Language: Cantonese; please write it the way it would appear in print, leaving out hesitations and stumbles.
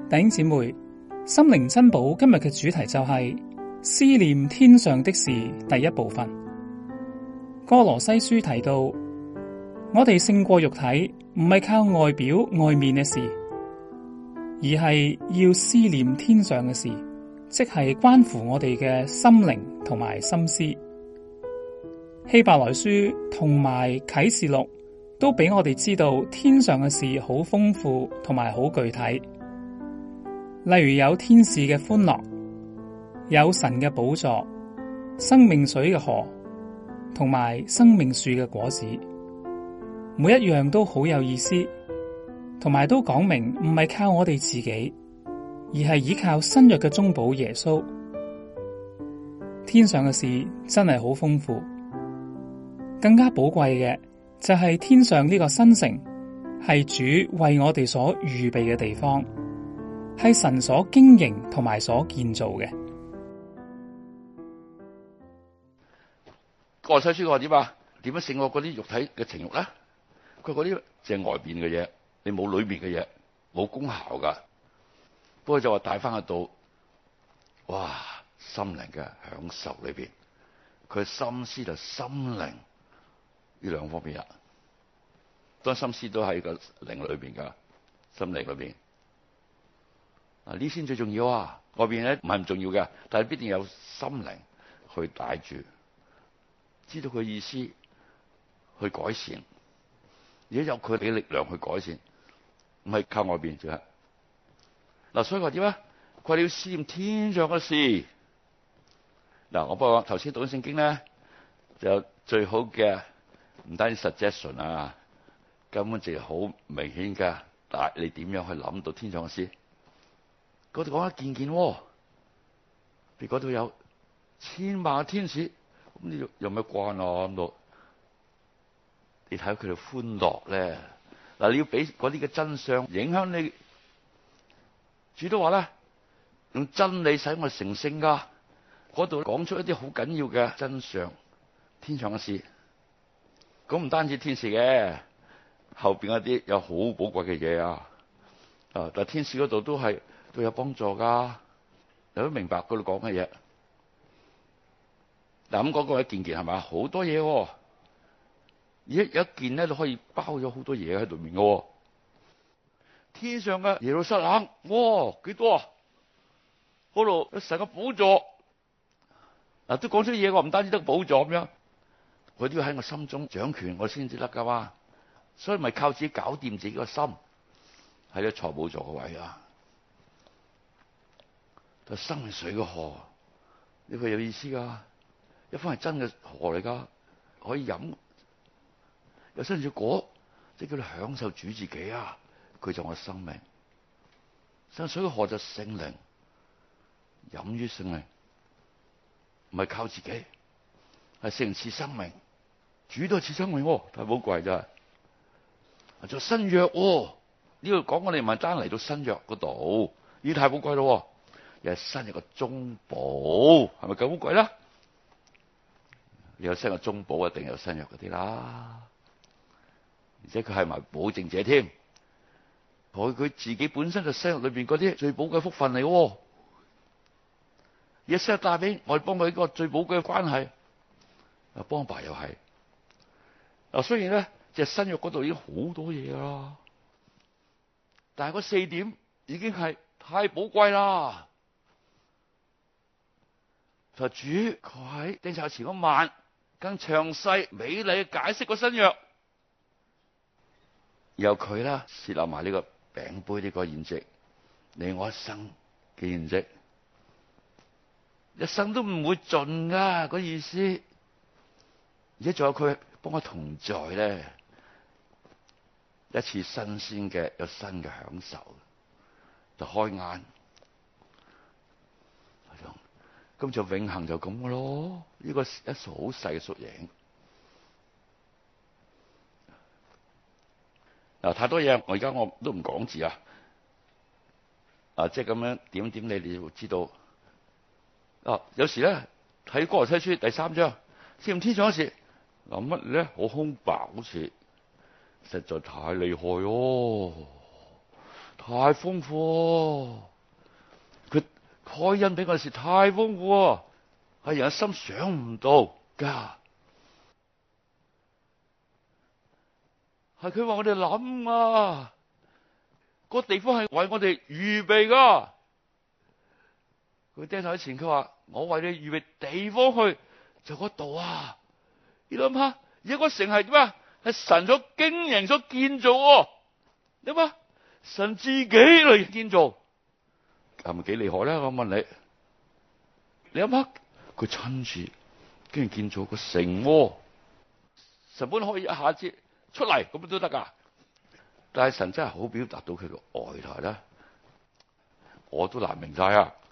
弟兄姊妹，心靈珍寶今日嘅主題就係思念天上的事，第一部分。歌羅西書提到，我哋勝過肉體，唔係靠外表外面嘅事，而係要思念天上嘅事，即係關乎我哋嘅心靈同埋心思。希伯來書同埋啟示錄都俾我哋知道天上嘅事好豐富同埋好具體。例如有天使嘅歡樂，有神嘅寶座、生命水嘅河，同埋生命樹嘅果子，每一樣都好有意思，同埋都講明唔係靠我哋自己，而係依靠新約嘅中保耶穌。天上嘅事真係好豐富，更加寶貴嘅就係天上呢個新城，係主為我哋所預備嘅地方。係神所經營同埋所建造嘅。 歌羅西書話點啊？點樣勝過嗰啲肉體嘅情慾咧？佢嗰啲淨係外邊嘅嘢，你冇裏面嘅嘢，冇功效噶。不過就話帶翻去到，哇，心靈嘅享受裏邊，佢心思就心靈呢兩方面啊。當心思都喺個靈裏邊噶，心靈裏邊。呢先最重要啊！外邊咧唔係唔重要嘅，但係必定有心靈去帶住，知道佢意思去改善，而且有佢嘅力量去改善，唔係靠外邊啫。嗱，所以話點啊？佢哋要思念天上嘅事。嗱，我不過頭先讀緊聖經咧，就有最好嘅唔單止 suggestion 啊，根本就係好明顯噶。但係你點樣去諗到天上嘅事？嗰度講一件件，你嗰度有千萬嘅天使，咁你有咩關啊？咁度你睇佢哋歡樂咧。嗱，你要俾嗰啲嘅真相影響你。主都話咧，用真理使我成聖噶。嗰度講出一啲好緊要嘅真相，天上嘅事。咁唔單止天使嘅，後邊嗰啲有好寶貴嘅嘢啊！但係天使嗰度都有幫助噶，你都明白嗰度講嘅嘢。嗱，咁講過一件件係咪？好多嘢，而一件咧都可以包咗好多嘢喺裏面嘅。天上嘅耶路撒冷，哇，幾多啊？嗰度有神嘅寶座，嗱，都講出嘢。我唔單止得寶座咁樣，佢都要喺我心中掌權，我先至得噶嘛。所以咪靠自己搞掂自己個心，喺個坐寶座個位啊。就生命水嘅河，呢個有意思噶，一方係真嘅河嚟噶，可以飲，有生命果，即係叫你享受主自己啊！佢就我生命，生命水嘅河就聖靈，飲於聖靈，唔係靠自己，係聖靈賜生命，主都係賜生命，太寶貴真係。做新約，呢度講我哋唔係單嚟到新約嗰度，呢太寶貴咯。有新約嘅中保，係咪咁好貴啦？有新約中保，一定有新約嗰啲啦。而且佢係埋保證者添，佢自己本身就新約裏邊嗰啲最寶貴福分嚟。而新約帶俾我哋幫佢一個最寶貴嘅關係，幫爸又係。嗱，雖然咧，即係新約嗰度已經好多嘢噶啦，但係嗰4點已經係太寶貴啦。就主佢喺釘十字前嗰晚更詳細美麗解釋個新約，由佢啦設立埋呢個餅杯呢個筵席，你我一生嘅筵席，一生都唔會盡噶嗰意思。而且仲有佢幫我同在咧，一次新鮮嘅有新嘅享受，就開眼。咁就永恆就咁嘅咯，呢個一數好細嘅縮影。嗱，太多嘢，我而家我都唔講字啊。即係咁樣點點你會知道。有時咧睇歌羅西書第3章，思念天上嘅事，諗乜咧？好空白，好似實在太厲害哦， 太豐富，佢開恩俾我哋時太豐富，係人嘅心想唔到噶，係佢話我哋諗啊，個地方係為我哋預備噶。佢釘頭前佢話我為你預備地方去，就嗰度啊！你諗下，而家個城係點啊？係神所經營所建造，你諗下，神自己嚟建造，係咪幾厲害咧？我問你，你諗下，佢親自竟然建造個城，神本可以一下子出嚟咁都得噶，但係神真係好表達到佢個愛台啦，我都難明晒啊！